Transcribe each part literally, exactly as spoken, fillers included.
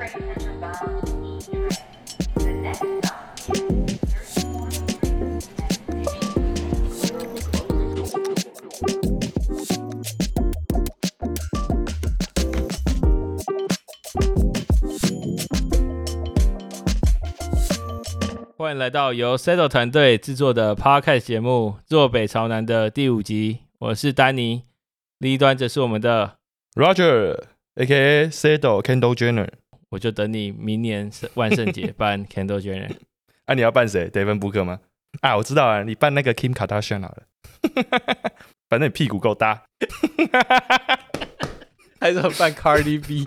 欢迎来到由 Settle 团队制作的 Podcast 节目《坐北朝南》的第五集，我是丹尼，另一端则是我们的 Roger，A K A Settle Kendall Jenner。 我就等你明年万圣节扮 Kendall Jenner。 啊，你要扮谁 ？Devin Booker 吗？啊，我知道啊，你扮那个 Kim Kardashian 好了。反正你屁股够大。 还是扮 Cardi B。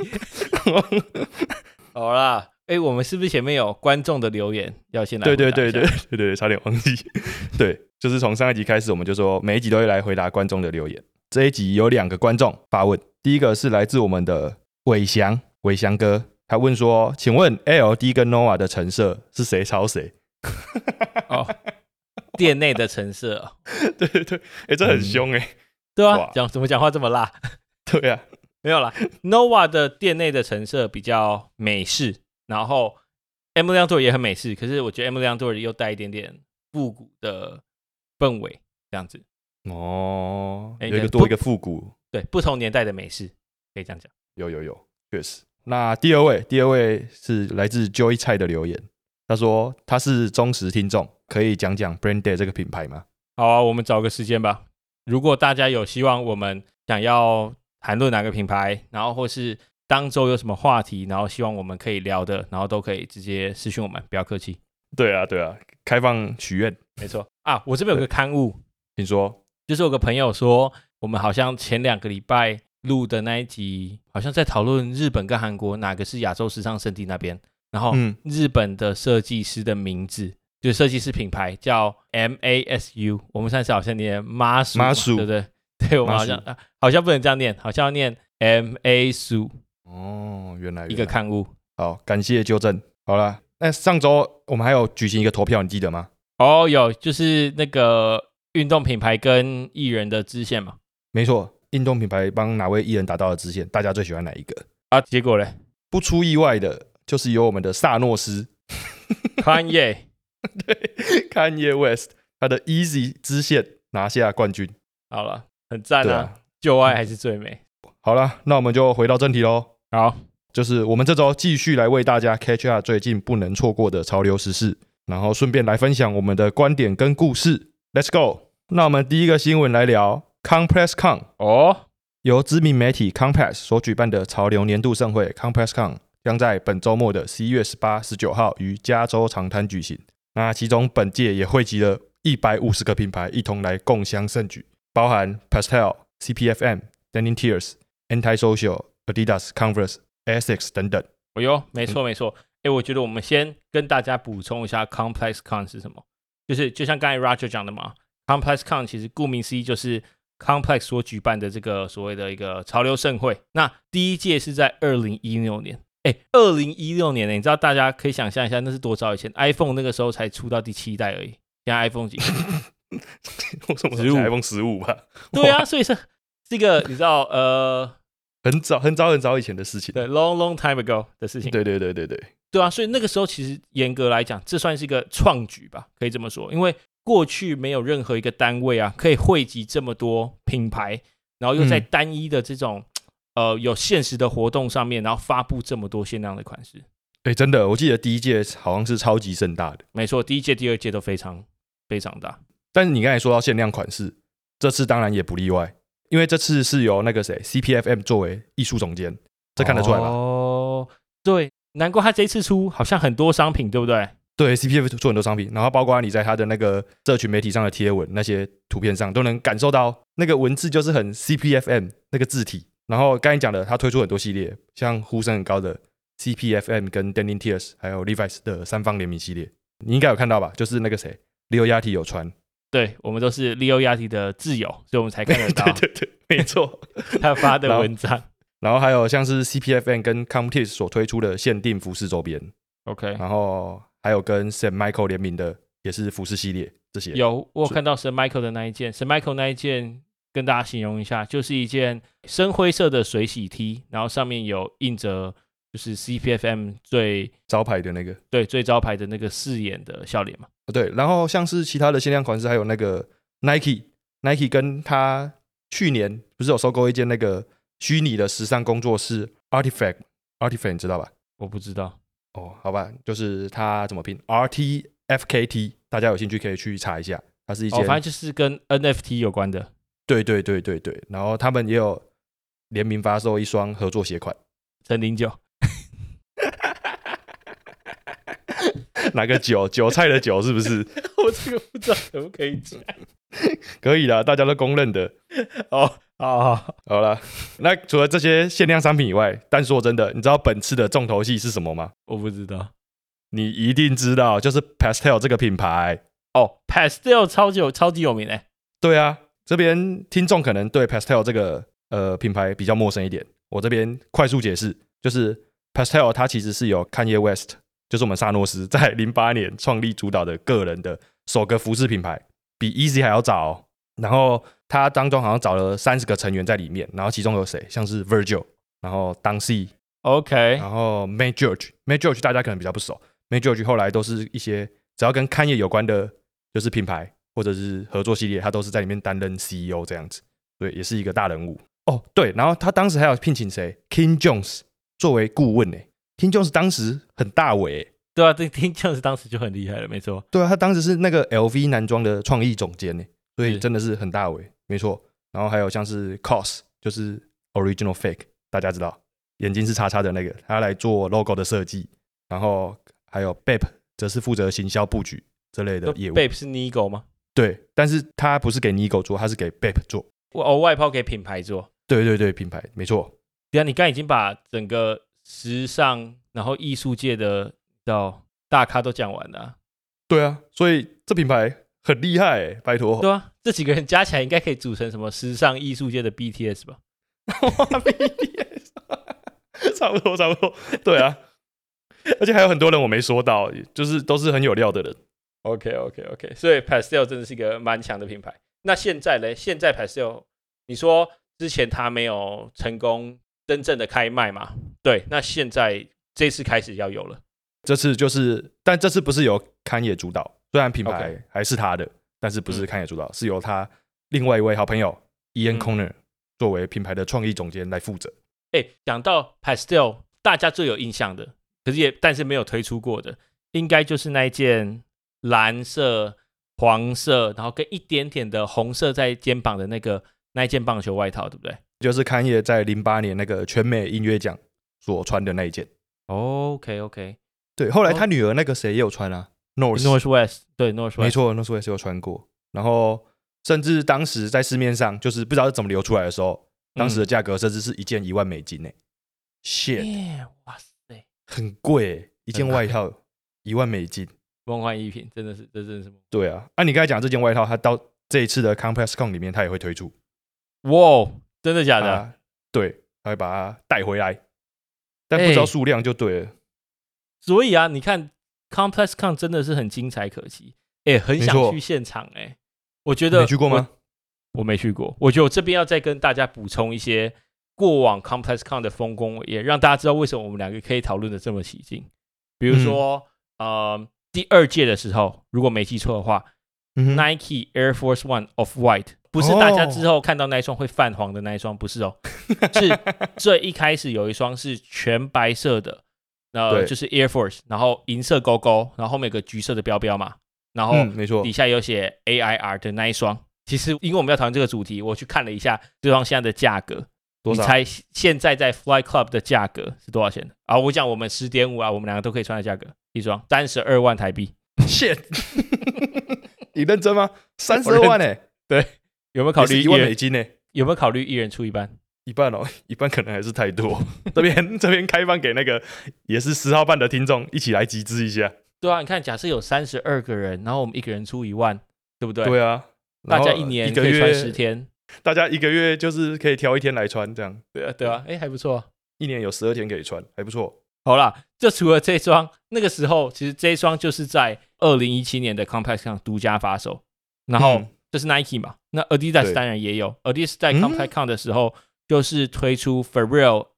好啦。哎，我们是不是前面有观众的留言要先来回答一下？ 对对对对对对，差点忘记。对，就是从上一集开始，我们就说每一集都会来回答观众的留言。这一集有两个观众发问，第一个是来自我们的伟翔，伟翔哥，他问说：“请问 L D 跟 Nova 的成色是谁抄谁？” 哦，店内的成色、哦。 对对对，哎，这很凶哎、欸嗯。 对啊，讲怎么讲话这么辣？ 对啊， 没有啦 ，Nova 的店内的成色比较美式。然后 Emily Tour 也很美式，可是我觉得 Emily Tour 又带一点点复古的氛围，这样子。 哦，有一个多一个复古， 对，不同年代的美式，可以这样讲。 有有有，确实。那第二位，第二位是来自 Joy 蔡的留言，他说他是忠实听众，可以讲讲 Brand Day 这个品牌吗？ 好啊，我们找个时间吧。如果大家有希望我们想要谈论哪个品牌，然后或是当周有什么话题，然后希望我们可以聊的，然后都可以直接私讯我们，不要客气。 对啊，对啊，开放许愿， 没错啊。我这边有个刊物， 请说， 就是有个朋友说，我们好像前两个礼拜录的那一集，好像在讨论日本跟韩国哪个是亚洲时尚圣地那边，然后日本的设计师的名字，嗯、就是设计师品牌叫 M A S U， 我们上次好像念 Masu， 对不对？对，我们好像、啊、好像不能这样念，好像要念 M A S U。 哦，原来, 原来一个刊物。 好，感谢纠正。好啦，那上周我们还有举行一个投票，你记得吗？ 哦，有，就是那个运动品牌跟艺人的支线嘛。 没错，运动品牌帮哪位艺人达到了支线？大家最喜欢哪一个？ 啊，结果嘞， 不出意外的，就是由我们的萨诺斯 Kanye， 对 ，Kanye West， 他的 Easy 支线拿下冠军。 好了，很赞啊，啊旧爱还是最美。 好了，那我们就回到正题咯。 好， 就是我们这周继续来为大家 catch up 最近不能错过的潮流时事，然后顺便来分享我们的观点跟故事。Let's go！ 那我们第一个新闻来聊 CompressCon 哦， 由知名媒体 Compress 所举办的潮流年度盛会 CompressCon 将在本周末的十一月十八、十九号于加州长滩举行。那其中本届也汇集了一百五十个品牌一同来共襄盛举，包含 Pastel、C P F M、Denim Tears、Antisocial、Adidas、Converse、Asics 等等。 哦哟，没错没错。哎，我觉得我们先跟大家补充一下 ComplexCon 是什么，就是就像刚才 Roger 讲的嘛 ，ComplexCon 其实顾名思义就是 Complex 所举办的这个所谓的一个潮流盛会。那第一届是在二零一六年，哎，二零一六年呢，你知道大家可以想象一下那是多早以前 ？iPhone 那个时候才出到第七代而已，现在 iPhone 几？ 为什么是 iPhone 十五吧？ 对啊，所以是这个你知道呃。 很早很早很早以前的事情， 对 ，long long time ago 的事情。 对对对对对， 对啊，所以那个时候其实严格来讲，这算是一个创举吧，可以这么说。因为过去没有任何一个单位啊，可以汇集这么多品牌，然后又在单一的这种、嗯、呃有限时的活动上面，然后发布这么多限量的款式。 哎，真的，我记得第一届好像是超级盛大的。 没错，第一届、第二届都非常非常大。 但是你刚才说到限量款式，这次当然也不例外。因为这次是由那个谁 C P F M 作为艺术总监，这看得出来吧？ 哦，对，难怪他这一次出好像很多商品，对不对？ 对 ，C P F M 做很多商品，然后包括你在他的那个社群媒体上的贴文，那些图片上都能感受到那个文字就是很 C P F M 那个字体。然后刚才讲的，他推出很多系列，像呼声很高的 C P F M 跟 Denim Tears 还有 Levi's 的三方联名系列，你应该有看到吧？就是那个谁 Leo Yachty 有穿。 对，我们都是 Leo Yachty 的挚友，所以我们才看得到。 对对对，没错， 他发的文章。 然后还有像是 C P F M 跟 Comtease 所推出的限定服饰周边 ，OK。 然后还有跟 Saint Michael 联名的，也是服饰系列这些。 有，我有看到 Saint Michael 的那一件 ，Saint Michael 那一件跟大家形容一下，就是一件深灰色的水洗 T， 然后上面有印着就是 C P F M 最招牌的那个， 对最招牌的那个四眼的笑脸嘛。 对，然后像是其他的限量款式，还有那个 Nike，Nike 跟他去年不是有收购一间那个虚拟的时尚工作室 Artifact，Artifact 你知道吧？ 我不知道哦，好吧，就是它怎么拼 R T F K T， 大家有兴趣可以去查一下，它是一间， 哦，反正就是跟 N F T 有关的。 对对对对对，然后他们也有联名发售一双合作鞋款， 陈零九。 哪个韭韭菜的韭是不是？ 我这个不知道可不可以讲。 可以啦，大家都公认的。 哦，好好好啦，那除了这些限量商品以外，但说真的，你知道本次的重头戏是什么吗？ 我不知道。 你一定知道，就是 Pastel 这个品牌。 哦 ，Pastel 超级有超级有名诶。 对啊，这边听众可能对 Pastel 这个呃品牌比较陌生一点，我这边快速解释，就是 Pastel 它其实是由 Kanye West， 就是我们萨诺斯在零八年创立主导的个人的首个服饰品牌，比 Easy 还要早哦。然后他当中好像找了三十个成员在里面，然后其中有谁？像是 Virgil， 然后 Don C，OK，、okay, 然后 May George，May George 大家可能比较不熟 ，May George 后来都是一些只要跟 Kanye 有关的，就是品牌或者是合作系列，他都是在里面担任 C E O 这样子，对，也是一个大人物哦。对，然后他当时还有聘请谁 ？King Jones 作为顾问呢。King Jones 当时很大尾， 对啊，对 King Jones 当时就很厉害了，没错。 对啊，他当时是那个 L V 男装的创意总监呢。所以真的是很大尾，没错。然后还有像是 C O S， 就是 Original Fake， 大家知道眼睛是叉叉的那个，他来做 logo 的设计。然后还有 B A P， 则是负责行销布局这类的业务。 B A P 是 Nigo 吗？ 对，但是他不是给 Nigo 做，他是给 B A P 做。 哦，外包给品牌做。 对对对，品牌没错。 对啊，你刚才已经把整个时尚然后艺术界的到大咖都讲完了、啊。 对啊，所以这品牌很厉害、欸，拜托。 对啊，这几个人加起来应该可以组成什么时尚艺术界的 B T S 吧 ？B T S 差不多差不多，对啊。而且还有很多人我没说到，就是都是很有料的人。 OK OK OK， 所以 Pastel 真的是一个蛮强的品牌。那现在呢？现在 Pastel， 你说之前他没有成功真正的开卖嘛？对，那现在这次开始要有了。 这次就是，但这次不是由Kanye主导。虽然品牌还是他的， okay. 但是不是Kanye主导、嗯，是由他另外一位好朋友 Ian Corner、嗯、作为品牌的创意总监来负责。 哎，讲到 Pastel， 大家最有印象的，可是也但是没有推出过的，应该就是那一件蓝色、黄色，然后跟一点点的红色在肩膀的那个那一件棒球外套，对不对？ 就是 Kanye 在零八年那个全美音乐奖所穿的那一件。 OK OK， 对，后来他女儿那个谁也有穿啊。North Northwest 对 Northwest 没错 Northwest 有穿过，然后甚至当时在市面上就是不知道是怎么流出来的时候，当时的价格甚至是一件一万美金呢、欸。shit，、 欸、哇塞， 很贵、欸，一件外套一万美金， 梦幻一品，真的是，这真的是。 对啊，啊，你刚才讲这件外套，它到这一次的 ComplexCon 里面，它也会推出。 哇，真的假的？ 啊、对，它会把它带回来，但不知道数量就对了。欸、 所以啊，你看。ComplexCon 真的是很精彩可期，哎、欸，很想去现场哎、欸。我觉得你去过吗？ 我没去过。我觉得我这边要再跟大家补充一些过往 ComplexCon 的丰功伟业，让大家知道为什么我们两个可以讨论的这么起劲。比如说，嗯、呃，第二届的时候，如果没记错的话、嗯、，Nike Air Force One Off-White 不是大家之后看到那一双会泛黄的那一双，不是哦，是最一开始有一双是全白色的。呃，就是 Air Force， 然后银色勾勾，然后后面有个橘色的标标嘛，然后没错， 底下有写 A I R 的那一双。其实因为我们要讨论这个主题，我去看了一下这双现在的价格， 多少？ 你猜现在在 Fly Club 的价格是多少钱？啊，我讲我们 十点五 啊，我们两个都可以穿的价格，一双三十二万台币。 shit， 你认真吗？三十二万哎、欸， 对，有没有考虑一万美金呢、欸？ 有没有考虑一人出一半？ 一半哦，一半可能还是太多。这边这边开放给那个也是十号半的听众一起来集资一下。 对啊，你看，假设有三十二个人，然后我们一个人出一万，对不对？ 对啊， 大家一年可以穿十天， 大家一个月就是可以挑一天来穿，这样。 对啊，对啊，哎，还不错。 一年有十二天可以穿，还不错。 好啦，就除了这双，那个时候其实这一双就是在二零一七年的 ComplexCon 独家发售，然后这是 Nike 嘛，那 Adidas 当然也有。Adidas 在 ComplexCon 的时候。就是推出 Pharrell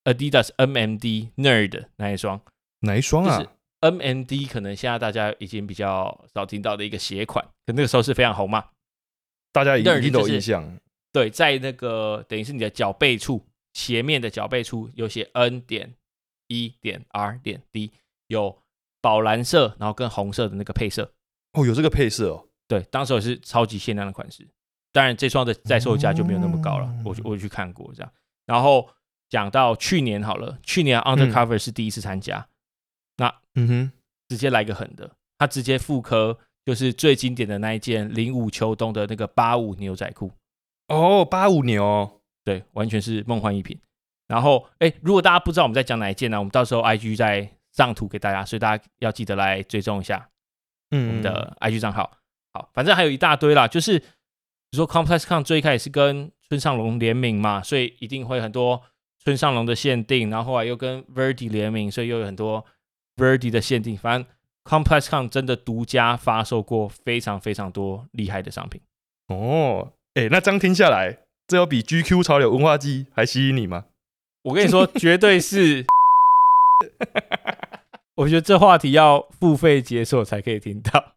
Adidas M M D Nerd 那一双， 哪一双啊？ 就是 M M D 可能现在大家已经比较少听到的一个鞋款，可那个时候是非常红嘛， 大家一定都有印象。 就是、对，在那个等于是你的脚背处，鞋面的脚背处有写 N 点 E 点 R 点 D， 有宝蓝色，然后跟红色的那个配色。 哦，有这个配色哦。 对，当时也是超级限量的款式。当然，这双的在售价就没有那么高了， 哦、 我我去看过这样。然后讲到去年好了，去年 Undercover、嗯、是第一次参加，那嗯哼，直接来个狠的，他直接复刻就是最经典的那一件零五秋冬的那个八五牛仔裤。 哦，八五牛， 对，完全是梦幻一品。然后，哎，如果大家不知道我们在讲哪一件呢，我们到时候 I G 再上图给大家，所以大家要记得来追踪一下我们的 I G 账号。嗯、好，反正还有一大堆啦，就是比如说 ComplexCon 最开始是跟村上隆联名嘛，所以一定会很多村上隆的限定，然后后来又跟 Verdi 联名，所以又有很多 Verdi 的限定。反正 ComplexCon 真的独家发售过非常非常多厉害的商品。 哦，哎，那这样听下来，这有比 G Q 潮流文化季还吸引你吗？ 我跟你说，绝对是。我觉得这话题要付费解锁才可以听到。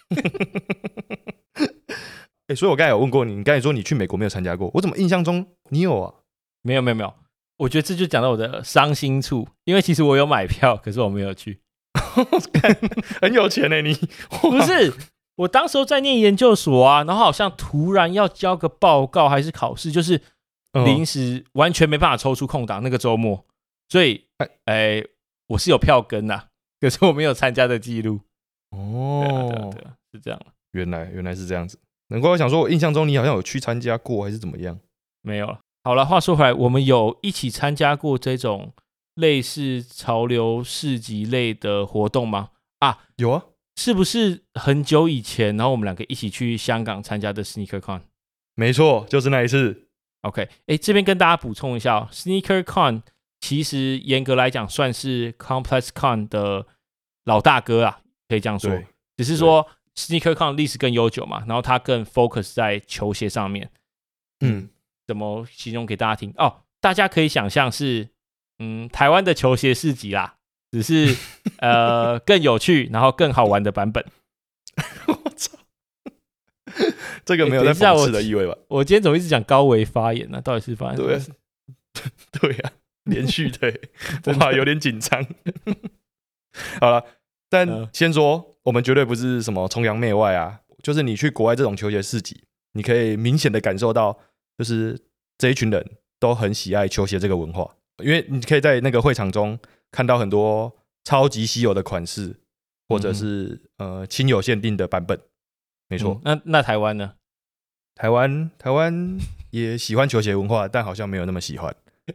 欸、所以我刚才有问过你，你刚才说你去美国没有参加过，我怎么印象中你有啊？ 没有没有没有，我觉得这就讲到我的伤心处，因为其实我有买票，可是我没有去。 很有钱欸你。 不是，我当时候在念研究所啊，然后好像突然要交个报告还是考试，就是临时完全没办法抽出空档那个周末，所以哎、欸，我是有票根呐、啊，可是我没有参加的记录。 哦， 对啊对啊对啊，是这样。 原来原来是这样子，难怪我想说，我印象中你好像有去参加过，还是怎么样？ 没有了。好了，话说回来，我们有一起参加过这种类似潮流市集类的活动吗？啊， 有啊， 是不是很久以前，然后我们两个一起去香港参加的 SneakerCon？ 没错，就是那一次。 OK， 哎，这边跟大家补充一下、哦、，SneakerCon 其实严格来讲算是 ComplexCon 的老大哥啊，可以这样说。只是说 SneakerCon 历史更悠久嘛，然后它更 focus 在球鞋上面。嗯，怎么形容给大家听？哦，大家可以想象是，嗯，台湾的球鞋市集啦，只是呃更有趣，然后更好玩的版本。 我操，这个没有在讽刺的意味吧？ 我, 我今天怎么一直讲高维发言呢、啊？到底是发生什么事？ 对呀、啊，连续的，哇，有点紧张。好了，但先说，我们绝对不是什么崇洋媚外啊，就是你去国外这种球鞋市集，你可以明显的感受到，就是这一群人都很喜爱球鞋这个文化，因为你可以在那个会场中看到很多超级稀有的款式，或者是、嗯、呃亲友限定的版本。没错、 嗯，那那台湾呢？ 台湾台湾也喜欢球鞋文化，但好像没有那么喜欢。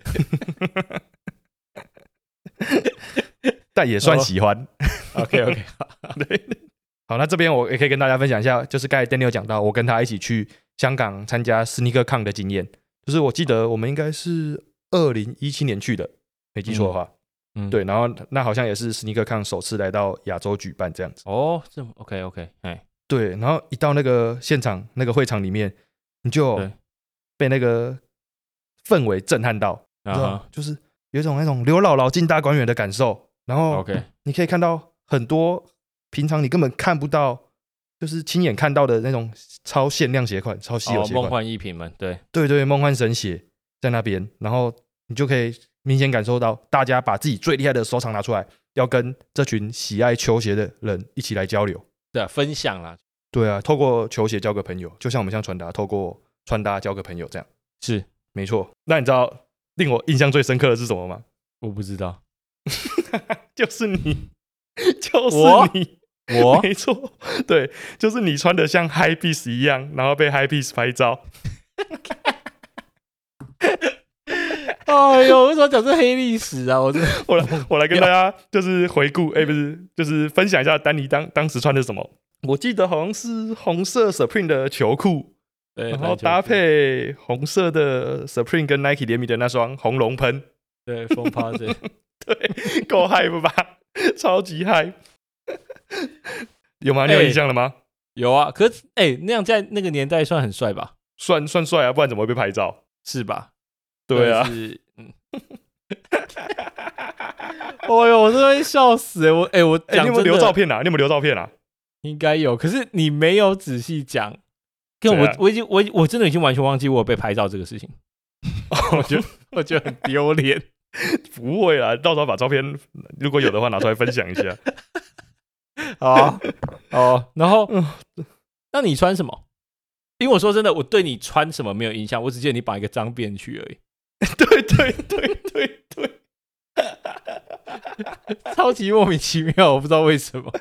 但也算喜欢。 Oh. OK OK， 对，好，那这边我也可以跟大家分享一下，就是刚才 Daniel 讲到，我跟他一起去香港参加 SneakerCon 的经验，就是我记得我们应该是二零一七年去的，没记错的话，嗯，对，然后那好像也是 SneakerCon 首次来到亚洲举办这样子。 哦，这 OK OK， 哎， 对，然后一到那个现场那个会场里面，你就被那个氛围震撼到，你知道吗？就是有一种那种刘姥姥进大观园的感受。然后你可以看到很多平常你根本看不到，就是亲眼看到的那种超限量鞋款、超稀有鞋款、 梦幻逸品们，对对对，梦幻神鞋在那边，然后你就可以明显感受到大家把自己最厉害的收藏拿出来，要跟这群喜爱球鞋的人一起来交流， 对啊，分享啦， 对啊，透过球鞋交个朋友，就像我们像传达，透过穿搭交个朋友这样， 是没错。那你知道令我印象最深刻的是什么吗？ 我不知道。 就是你，就是你， 我没错，对，就是你穿的像 Hypebeast 一样，然后被 Hypebeast 拍照。 哎呦，为什么讲这黑历史啊？我我来，我来跟大家就是回顾，哎、欸，不是，就是分享一下丹尼当当时穿的什么。我记得好像是红色 Supreme 的球裤，然后搭配红色的 Supreme 跟 Nike 联名的那双红龙喷， 对，风趴着。 对，够 hype 吧？超级 hype， 有吗？你有印象了吗？ 欸、有啊，可是哎、欸，那样在那个年代算很帅吧？ 算算帅啊，不然怎么会被拍照？ 是吧？ 对啊， 是嗯， 哦呦，我真的会笑死哎！我哎、欸，我哎、欸，你有没有留照片啊？你有没有留照片啊？ 应该有，可是你没有仔细讲。跟我我已经我我真的已经完全忘记我有被拍照这个事情。我觉得我觉得很丢脸。 不会啦，到时候把照片如果有的话拿出来分享一下。 好哦，然后那你穿什么？因为我说真的，我对你穿什么没有印象，我只记得你绑一个脏辫去而已。 对对对对对， 超级莫名其妙，我不知道为什么。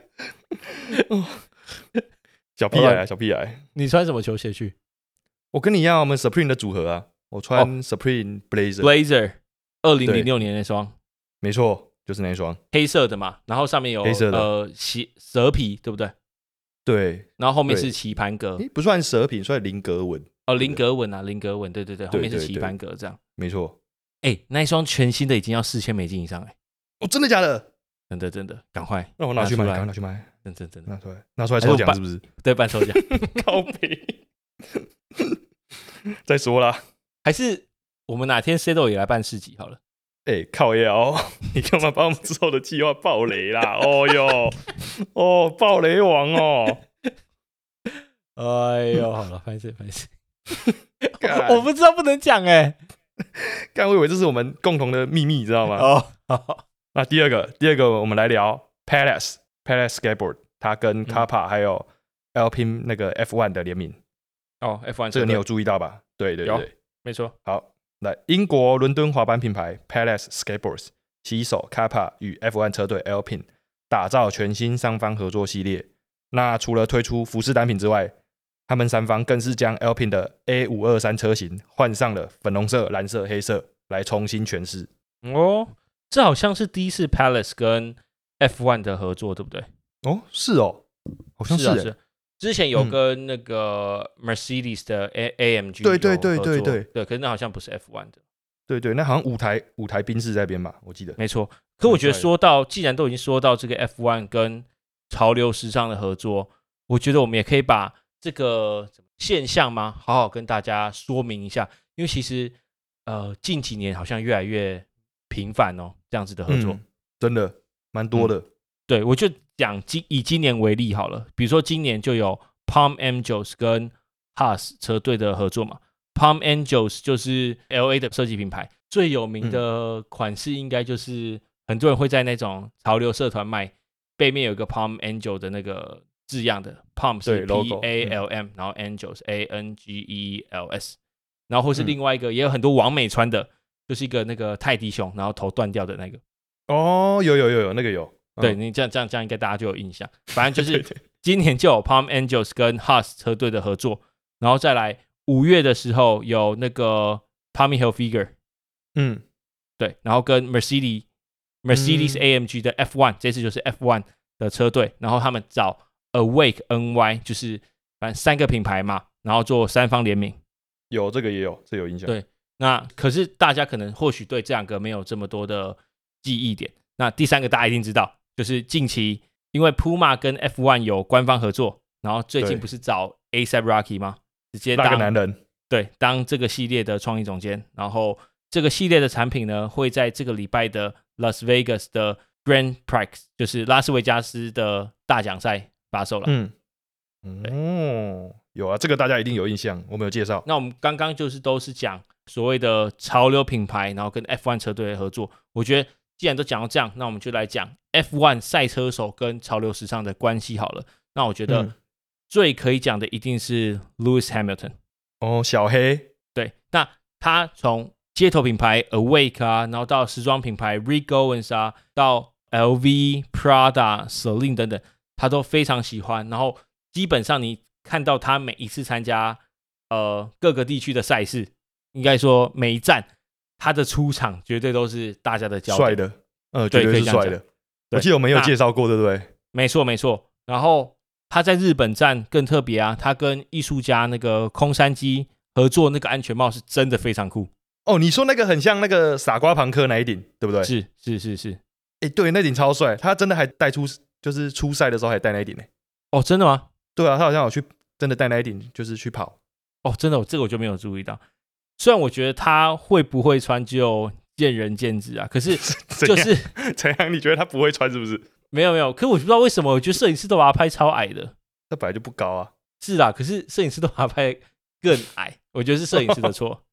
小屁孩啊，小屁孩！ 你穿什么球鞋去？ 我跟你一样，我们 Supreme 的组合啊，我穿 Supreme Blazer Blazer， 二零零六年那双， 没错，就是那一双黑色的嘛，然后上面有黑色的呃蛇皮，对不对？ 对， 然后后面是棋盘格， 不算蛇皮，算菱格纹。 哦，菱格纹啊，菱格纹，对对对，后面是棋盘格这样， 没错。 哎，那一双全新的已经要四千美金以上哎！ 哦，真的假的？ 真的真的，赶快让我拿去买，赶快拿去买， 真真真的拿出来，拿出来抽奖是不是？ 对，办抽奖， 靠北。再说啦， 还是我们哪天 Settle 也来办市集好了。 哎、欸，靠腰，你干嘛把我们之后的计划爆雷啦？哦哟，哦，爆雷王哦！ 哎呦，好了，拍摄拍摄，我不知道不能讲哎、欸， 干，我以为这是我们共同的秘密，你知道吗？ 哦，好， 那第二个，第二个我们来聊 Palace Palace Skateboard， 它跟 Kappa 还有 Alpine 那个 F 一 的联名。 哦 ，F 一这个你有注意到吧？对对对， 没错。 好，来，英国伦敦滑板品牌 Palace Skateboards 携手 Kappa 与 F 一 车队 Alpine 打造全新三方合作系列。那除了推出服饰单品之外，他们三方更是将 Alpine 的 A 五二三 车型换上了粉红色、蓝色、黑色来重新诠释。 哦，这好像是第一次 Palace 跟 F 一 的合作，对不对？ 哦，是哦，好像是、欸、 是啊，是。之前有跟那个 Mercedes 的 A M G 对对对对对对，可是那好像不是 F 一 的。 对对，那好像五台五台宾士在边吧，我记得。 没错。可我觉得说到，既然都已经说到这个 F 一 跟潮流时尚的合作，我觉得我们也可以把这个现象吗，好好跟大家说明一下。因为其实呃近几年好像越来越频繁哦，这样子的合作， 嗯、真的蛮多的。嗯、 对，我就讲今以今年为例好了，比如说今年就有 Palm Angels 跟 Haas 车队的合作嘛。Palm Angels 就是 L A 的设计品牌，最有名的款式应该就是很多人会在那种潮流社团卖，背面有一个 Palm Angel 的那个字样的 ，Palm 是 P A L M，、嗯、然后 Angels A N G E L S， 然后或是另外一个、嗯、也有很多网美穿的，就是一个那个泰迪熊，然后头断掉的那个。 哦，有有有有那个有， 嗯、对你这样这样这样应该大家就有印象。反正就是今年就有 Palm Angels 跟 Haas 车队的合作，然后再来。五月的时候有那个 Tommy Hilfiger， 嗯， 对，然后跟 Mercedes Mercedes A M G 的 F 一、嗯、这次就是 F 一 的车队，然后他们找 Awake N Y， 就是反正三个品牌嘛，然后做三方联名。 有这个也有，这有印象。 对，那可是大家可能或许对这两个没有这么多的记忆点。那第三个大家一定知道，就是近期因为 Puma 跟 F 一 有官方合作，然后最近不是找 A$AP Rocky 吗？直接当那个男人， 对，当这个系列的创意总监，然后这个系列的产品呢，会在这个礼拜的 Las Vegas 的 Grand Prix， 就是拉斯维加斯的大奖赛发售了。 嗯，哦，有啊，这个大家一定有印象，我们有介绍。 那我们刚刚就是都是讲所谓的潮流品牌，然后跟 F 一 车队的合作。我觉得既然都讲到这样，那我们就来讲 F 一 赛车手跟潮流时尚的关系好了。那我觉得、嗯最可以讲的一定是 Lewis Hamilton 哦，小黑。 对，那他从街头品牌 Awake 啊，然后到时装品牌 Rick Owens 啊，到 L V、Prada、Celine 等等，他都非常喜欢。然后基本上你看到他每一次参加呃各个地区的赛事，应该说每一站他的出场绝对都是大家的焦点。 帅的，呃，绝对是帅的。我记得我们有介绍过，对不对？ 没错没错。然后他在日本站更特别啊，他跟艺术家那个空山鸡合作，那个安全帽是真的非常酷哦。你说那个很像那个傻瓜朋克那一顶，对不对？ 是是是是， 哎，对，那顶超帅，他真的还带出，就是出赛的时候还戴那一顶呢。 哦，真的吗？ 对啊，他好像有去真的戴那一顶，就是去跑。 哦，真的，这个我就没有注意到。虽然我觉得他会不会穿就见仁见智啊。可是就是怎样？你觉得他不会穿是不是？ 没有没有，可我不知道为什么，我觉得摄影师都把他拍超矮的。 那本来就不高啊。 是啦，可是摄影师都把他拍更矮，我觉得是摄影师的错。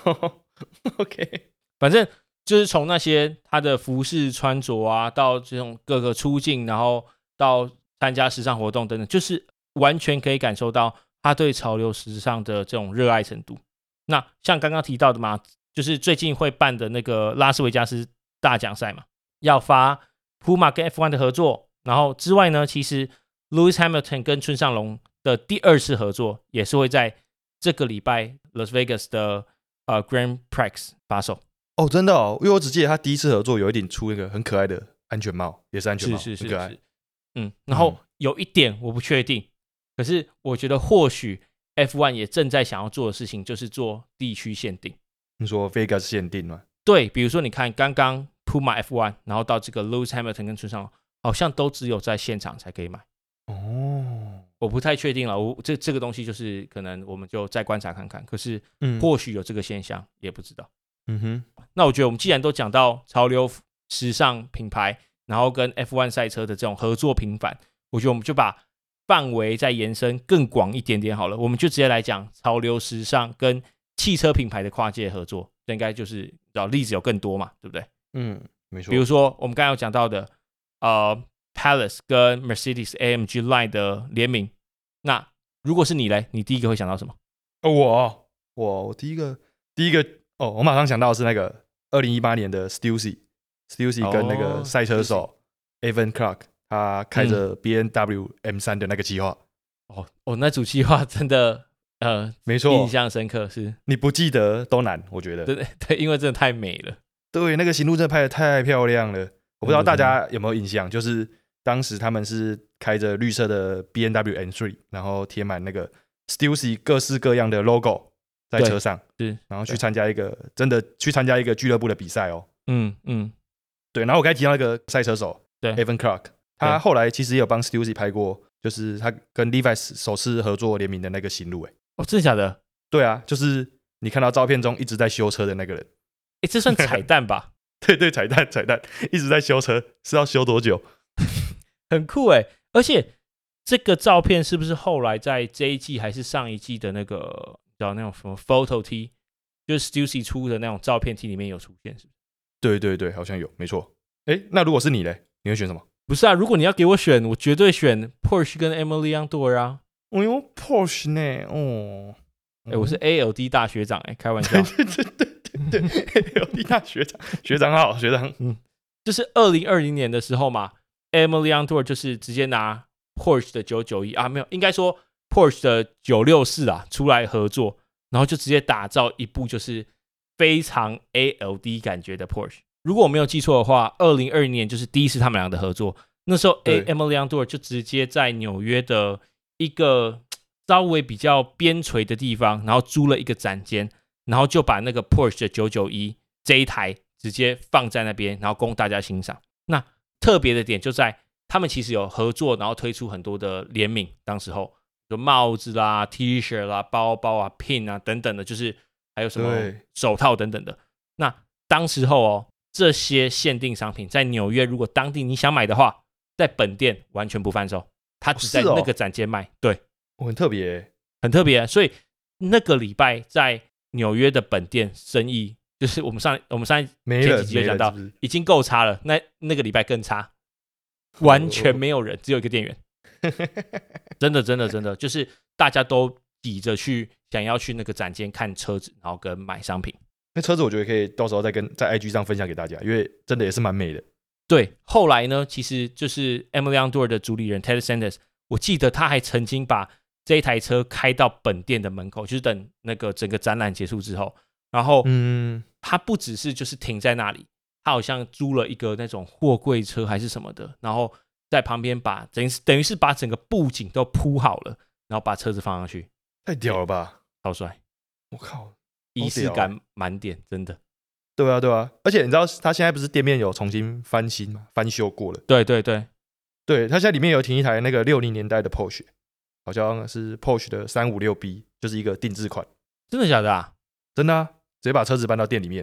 OK， 反正就是从那些他的服饰穿着啊，到这种各个出镜，然后到参加时尚活动等等，就是完全可以感受到他对潮流时尚的这种热爱程度。那像刚刚提到的嘛，就是最近会办的那个拉斯维加斯大奖赛嘛，要发 Puma 跟 F 一 的合作，然后之外呢，其实 Lewis Hamilton 跟村上隆的第二次合作也是会在这个礼拜 Las Vegas 的呃 Grand Prix 发售。 哦，真的哦，因为我只记得他第一次合作有一顶出一个很可爱的安全帽，也是安全帽， 是是是很可爱。 是，嗯，然后有一点我不确定，可是我觉得或许 F 一 也正在想要做的事情就是做地区限定。 你说 Vegas 限定吗？ 对，比如说你看刚刚 Puma F 一，然后到这个 Lewis Hamilton 跟村上隆，好像都只有在现场才可以买。 哦， 我不太确定了，我这这个东西就是可能我们就再观察看看，可是嗯或许有这个现象，也不知道。 嗯哼， 那我觉得我们既然都讲到潮流时尚品牌，然后跟 F 一 赛车的这种合作频繁，我觉得我们就把范围再延伸更广一点点好了，我们就直接来讲潮流时尚跟汽车品牌的跨界合作，这应该就是例子有更多嘛，对不对？ 嗯，没错。 比如说我们刚才有讲到的，呃 Palace 跟 Mercedes A M G Line 的联名，那如果是你嘞，你第一个会想到什么？ 哦，我我我第一个第一个哦，我马上想到的是那个二零一八年的 Stussy，Stussy 跟那个赛车手 Evan Clark， 他开着 B M W M 三 的那个计划。 哦哦，那组计划真的呃， 没错， 印象深刻是。 你不记得都难，我觉得。 对对，因为真的太美了。 对，那个行路真的拍得太漂亮了。我不知道大家有没有印象，就是当时他们是开着绿色的 B M W M 三，然后贴满那个 Stussy 各式各样的 logo 在车上， 是， 然后去参加一个真的去参加一个俱乐部的比赛哦。 嗯嗯， 对。然后我刚才提到那个赛车手， 对 ，Evan Clark， 他后来其实也有帮 Stussy 拍过，就是他跟 Levi's 首次合作联名的那个行路。哎， 哦，真的假的？ 对啊，就是你看到照片中一直在修车的那个人。 哎，这算彩蛋吧？ 对对，彩蛋彩蛋，一直在修车，是要修多久？ 很酷哎！而且这个照片是不是后来在这一季还是上一季的那个叫那种什么 photo T， 就是 Stussy 出的那种照片 T 里面有出现，是不是？ 对对对，好像有，没错。哎，那如果是你嘞，你会选什么？ 不是啊，如果你要给我选，我绝对选 Porsche 跟 Emily Andor 啊。 哦哟 ，Porsche 呢？哦， 哎，我是 A L D 大学长哎，开玩笑。 对对对对对 ，A L D 大学长，学长好，学长。 嗯，就是二零二零年的时候嘛 ，Emily Andor 就是直接拿 Porsche 的九九一啊，没有，应该说 Porsche 的九六四啊出来合作，然后就直接打造一部就是非常 A L D 感觉的 Porsche。如果我没有记错的话，二零二零年就是第一次他们俩的合作。那时候 Emily Andor 就直接在纽约的一个稍微比较边陲的地方，然后租了一个展间，然后就把那个 Porsche 的九九一这一台直接放在那边，然后供大家欣赏。那特别的点就在他们其实有合作，然后推出很多的联名，当时候有帽子啦、T 恤啦、包包啊、pin 啊等等的，就是还有什么手套等等的。那当时候哦，这些限定商品在纽约，如果当地你想买的话，在本店完全不贩售，它只在那个展间卖。哦哦、对， 我、哦、很特别， 很特别。所以那个礼拜在纽约的本店生意，就是我们上我们上一前几集有讲到，是是已经够差了。那那个礼拜更差，完全没有人，只有一个店员。真的真的真的，就是大家都挤着去想要去那个展间看车子，然后跟买商品。 那车子我觉得可以到时候再跟在 I G 上分享给大家，因为真的也是蛮美的。 对，后来呢，其实就是 Emily Andor 的主理人 Ted Sanders， 我记得他还曾经把这一台车开到本店的门口，就是等那个整个展览结束之后，然后嗯，他不只是就是停在那里，他好像租了一个那种货柜车还是什么的，然后在旁边把等于等于是把整个布景都铺好了，然后把车子放上去， 太屌了吧， 超帅！ 我靠， 仪式感满点，真的。 对啊，对啊，而且你知道他现在不是店面有重新翻新吗？翻修过了。 对对对， 对，他现在里面有停一台那个六零年代的 Porsche， 好像是 Porsche 的三五六 B， 就是一个定制款。 真的假的啊？ 真的啊，直接把车子搬到店里面，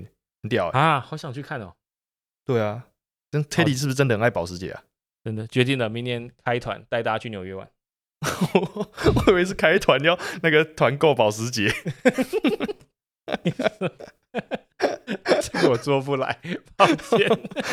很屌、欸、 啊，好想去看哦。 对啊，跟 Teddy 是不是真的很爱保时捷啊？ 真的决定了，明年开团带大家去纽约玩。 我以为是开团要那个团购保时捷。 这个我做不来，抱歉。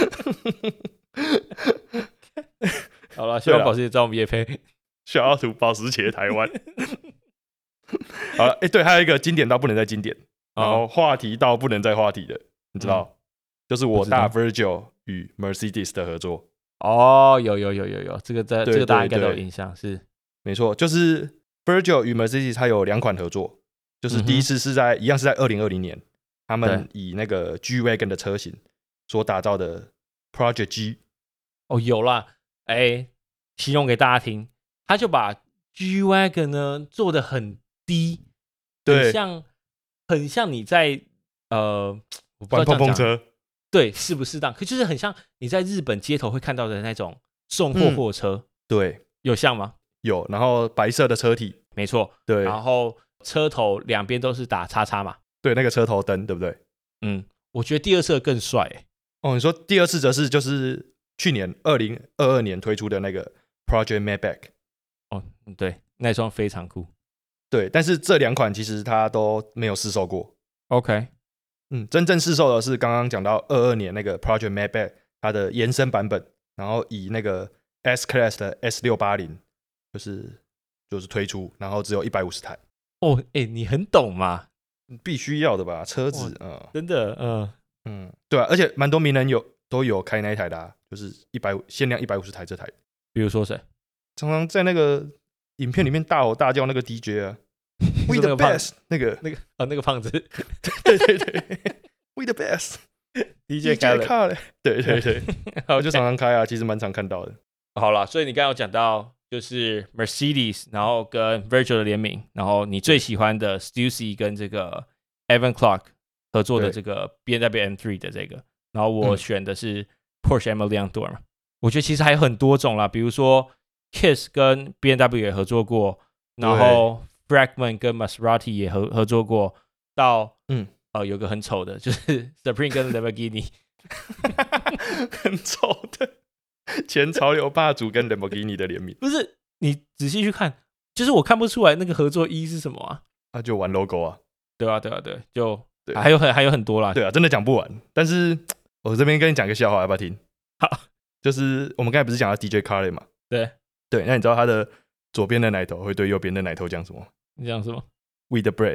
好了，希望保时捷找我们业配。 小奥图保时捷台湾。好了，哎、欸，对，还有一个经典到不能再经典，然后话题到不能再话题的，你知道，嗯、就是我大 Virgil 与 Mercedes 的合作。 哦，有有有有有，这个在这个大家应该都有印象，是没错，就是 Virgil 与 Mercedes 它有两款合作，就是第一次是在、嗯、一样是在二零二零年，他们以那个 G Wagon 的车型所打造的 Project G。 哦，有啦，哎、欸，形容给大家听，他就把 G Wagon 呢做得很低， 对， 很像很像你在呃玩碰碰车， 对，适不适当？可就是很像你在日本街头会看到的那种送货货车，嗯、 对， 有像吗？ 有，然后白色的车体， 没错， 对， 然后车头两边都是打叉叉嘛， 对，那个车头灯，对不对？ 嗯，我觉得第二次更帅、欸。 哦，你说第二次则是就是去年二零二二年推出的那个 Project Maybach。 哦，对，那双非常酷。 对，但是这两款其实它都没有试售过。 OK， 嗯，真正试售的是刚刚讲到二二年那个 Project Maybach 它的延伸版本，然后以那个 S Class 的 S 六八零 就是就是推出，然后只有一百五十台。 哦，哎、欸，你很懂嘛？ 必须要的吧，车子，嗯， 真的，嗯、呃、 嗯，对啊，而且蛮多名人有都有开那一台的、啊，就是一百限量一百五十台这台。 比如说谁？ 常常在那个影片里面大吼大叫那个 D J 啊，We the best， 那个那个啊那个胖子， 对对对 ，We the best，D J 开了，对对对，我就常常开啊，其实蛮常看到的。 好啦，所以你刚刚有讲到就是 Mercedes， 然后跟 Virgil 的联名，然后你最喜欢的 Stussy 跟这个 Evan Clark 合作的这个 B M W M 三 的这个，然后我选的是 Porsche M L Tour 嘛。我觉得其实还有很多种啦，比如说 Kiss 跟 B M W 也合作过，然后 Fragment 跟 Maserati 也合合作过，到嗯呃有个很丑的，就是 Supreme 跟 Lamborghini， 很丑的。前潮流霸主跟 Lamborghini 的联名， 不是你仔细去看，就是我看不出来那个合作意义是什么啊？ 啊，就玩 logo 啊， 对啊，对啊，对，就对还有很还有很多啦， 对啊，真的讲不完。但是我这边跟你讲个笑话，要不要听？ 好， 就是我们刚才不是讲到 D J Khaled 嘛？ 对对，那你知道他的左边的奶头会对右边的奶头讲什么？ 你讲什么 ？We the breast 。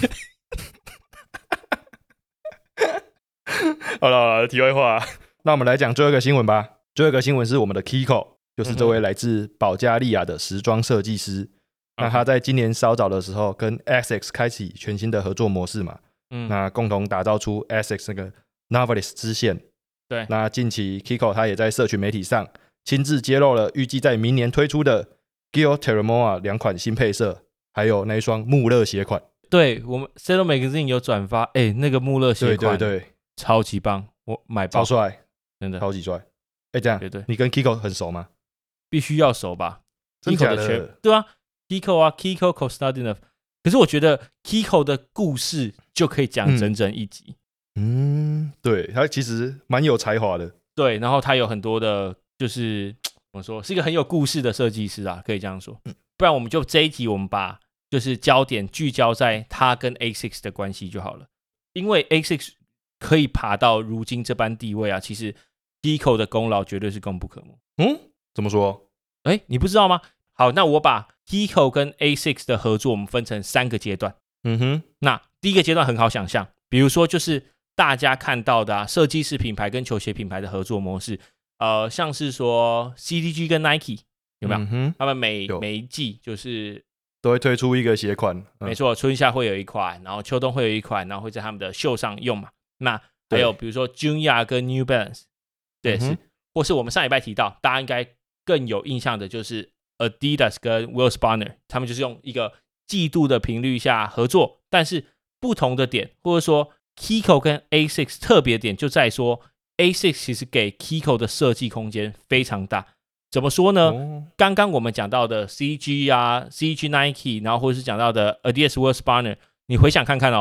好了好了，题外话，那我们来讲最后一个新闻吧。最后一个新闻是我们的 Kiko， 就是这位来自保加利亚的时装设计师。嗯、那他在今年稍早的时候跟 Essex 开启全新的合作模式嘛，嗯，那共同打造出 Essex 那个 Novelist 支线。 对， 那近期 Kiko 他也在社群媒体上亲自揭露了预计在明年推出的 Gil Terramoa 两款新配色，还有那一双穆勒鞋款。 对，我们 Saddle Magazine 有转发，哎、欸，那个穆勒鞋款， 对对对， 超级棒，我买爆， 超帅， 真的超级帅。哎、欸，这样， 对对， 你跟 Kiko 很熟吗？ 必须要熟吧？ 真假的？ Kiko 的全对啊 ，Kiko 啊 ，Kiko Kostadinov。可是我觉得 Kiko 的故事就可以讲整整一集。 嗯，嗯对，他其实蛮有才华的。 对，然后他有很多的，就是怎么说，是一个很有故事的设计师啊，可以这样说。嗯、不然我们就这一集，我们把就是焦点聚焦在他跟 A 六 的关系就好了，因为 A 六 可以爬到如今这般地位啊，其实 Kiko 的功劳绝对是功不可没。 嗯，怎么说？ 哎，你不知道吗？好，那我把 Kiko 跟 A 六 的合作，我们分成三个阶段。 嗯哼， 那第一个阶段很好想象，比如说就是大家看到的啊，设计师品牌跟球鞋品牌的合作模式，呃，像是说 C D G 跟 Nike 有没有？嗯、他们每每一季就是都会推出一个鞋款， 嗯、没错，春夏会有一款，然后秋冬会有一款，然后会在他们的秀上用嘛。那还有比如说 Junya 跟 New Balance， 对、嗯、是，或是我们上礼拜提到，大家应该更有印象的就是 Adidas 跟 Will Spanner， 他们就是用一个季度的频率下合作，但是不同的点，或者说 Kiko 跟 A 六 特别点就在说 A 六 其实给 Kiko 的设计空间非常大。怎么说呢？哦、刚刚我们讲到的 C G 啊 ，C G Nike， 然后或者是讲到的 Adidas Will Spanner， 你回想看看哦，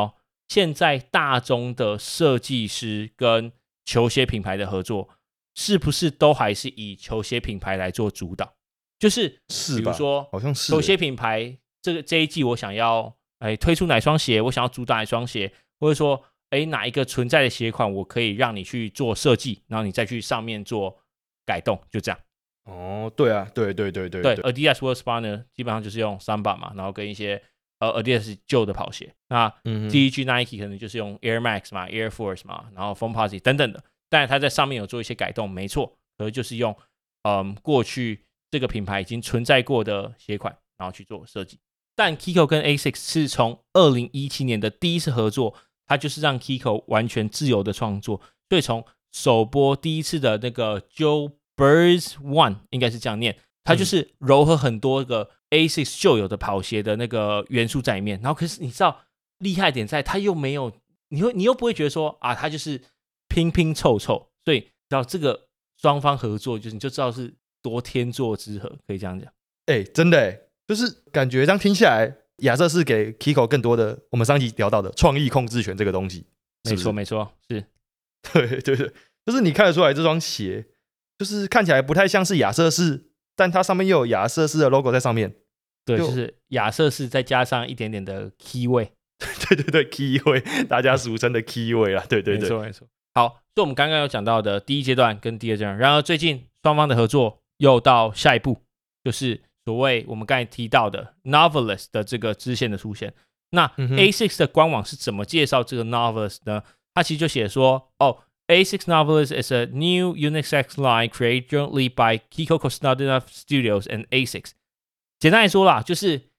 现在大宗的设计师跟球鞋品牌的合作，是不是都还是以球鞋品牌来做主导？就是比如说， 好像是球鞋品牌这个这一季我想要哎推出哪双鞋，我想要主打哪双鞋，或者说哎哪一个存在的鞋款，我可以让你去做设计，然后你再去上面做改动，就这样。 哦，对啊，对对对对对 ，Adidas World Spa 呢，基本上就是用 Samba 嘛，然后跟一些呃 Adidas 旧的跑鞋。那 D E G Nike 可能就是用 Air Max 嘛 ，Air Force 嘛，然后 Foamposite 等等的。当然，它在上面有做一些改动，没错，可是就是用嗯过去这个品牌已经存在过的鞋款，然后去做设计。但 Kiko 跟 A S I C S 是从二零一七年的第一次合作，它就是让 Kiko 完全自由的创作，所以从首播第一次的那个 Joe Birds One 应该是这样念，它就是糅合很多个 A S I C S 旧有的跑鞋的那个元素在里面。然后可是你知道厉害点在，它又没有，你会你又不会觉得说啊，它就是拼拼凑凑，所以知道这个双方合作，就是你就知道是多天作之合，可以这样讲。 哎、欸，真的哎、欸，就是感觉这样听下来，亚瑟士给 Kiko 更多的我们上集聊到的创意控制权这个东西。 没错没错，是， 对对对，就是你看得出来这双鞋，就是看起来不太像是亚瑟士，但它上面又有亚瑟士的 logo 在上面。 对，就, 就是亚瑟士再加上一点点的 key 味。 对对对 ，key 味，大家俗称的 key 味啦。对对对， 没错没错。好，所以我们刚刚有讲到的第一阶段跟第二阶段，然而最近双方的合作又到下一步，就是所谓我们刚才提到的 Novelist 的这个支线的出现。那 A S I C S 的官网是怎么介绍这个 Novelist 呢？它其实就写说，哦 ，A S I C S Novelist is a new unisex line created jointly by Kiko Kostadinov Studios and A S I C S。简单来说啦，就是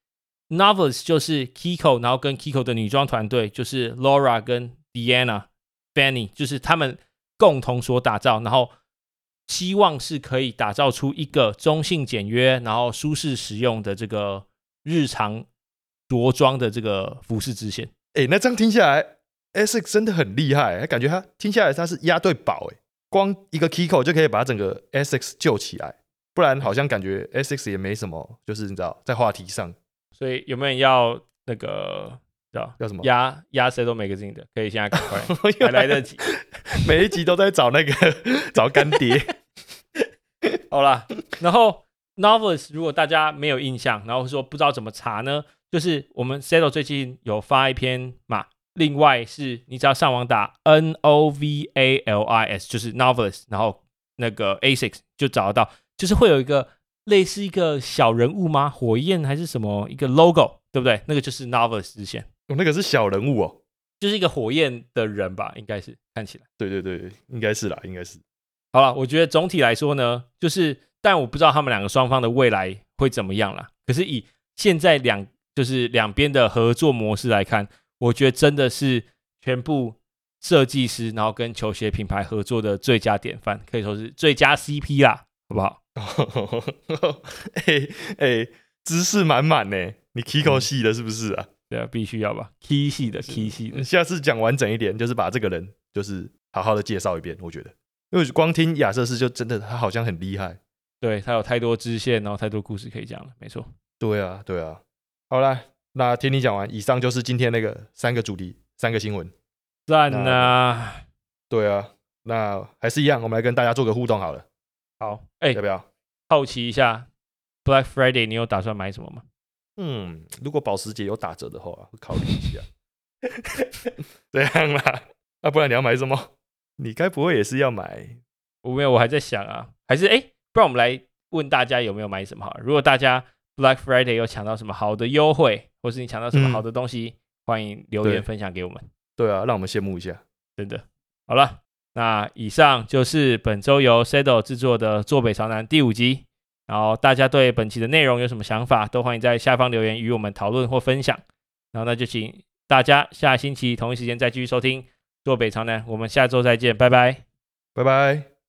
Novelist 就是 Kiko， 然后跟 Kiko 的女装团队，就是 Laura 跟 Diana、Fanny， 就是他们共同所打造，然后希望是可以打造出一个中性简约，然后舒适实用的这个日常着装的这个服饰支线。 哎、欸，那这样听下来 ，A S I C S 真的很厉害，感觉他听下来他是押对宝哎，光一个 Kiko 就可以把整个 A S I C S 救起来，不然好像感觉 A S I C S 也没什么，就是你知道在话题上。 所以有没有人要那个叫要什么压压 Saddle Magazine 的？可以现在赶快，还来得及。 每一集都在找那个找干爹。 好啦，然后 Novelist 如果大家没有印象，然后说不知道怎么查呢，就是我们 Saddle 最近有发一篇嘛，另外是你只要上网打 N O V A L I S 就是 Novelist， 然后那个 A S I C S 就找得到，就是会有一个类似一个小人物吗？火焰还是什么一个 logo， 对不对？那个就是 Novelist 支线。 哦，那个是小人物哦， 就是一个火焰的人吧，应该是看起来。 对对对，应该是啦，应该是。 好了，我觉得总体来说呢，就是但我不知道他们两个双方的未来会怎么样啦。可是以现在两就是两边的合作模式来看，我觉得真的是全部设计师然后跟球鞋品牌合作的最佳典范，可以说是最佳 C P 啦，好不好？ 哎哎，知识满满呢，你 Kiko 系的是不是啊？ 对啊，必须要吧 ，Key 系的 Key 系的。 下次讲完整一点，就是把这个人就是好好的介绍一遍，我觉得。因为光听亚瑟士就真的他好像很厉害， 对他有太多支线，然后太多故事可以讲了，没错。 对啊，对啊。好啦，那听你讲完，以上就是今天那个三个主题、三个新闻。 赞啊！ 对啊，那还是一样，我们来跟大家做个互动好了。 好，哎、欸， 要不要？ 好奇一下 ，Black Friday 你有打算买什么吗？ 嗯，如果保时捷有打折的话，会考虑一下。这样啦，那、啊、不然你要买什么？你该不会也是要买？ 我没有，我还在想啊，还是哎、欸，不然我们来问大家有没有买什么好了。如果大家 Black Friday 有抢到什么好的优惠，或是你抢到什么好的东西，嗯、欢迎留言分享给我们。 对啊，让我们羡慕一下。 真的。好了，那以上就是本周由 Saddle 制作的坐北朝南第五集。然后大家对本期的内容有什么想法，都欢迎在下方留言与我们讨论或分享。然后那就请大家下星期同一时间再继续收听坐北朝南，我们下周再见，拜拜， 拜拜。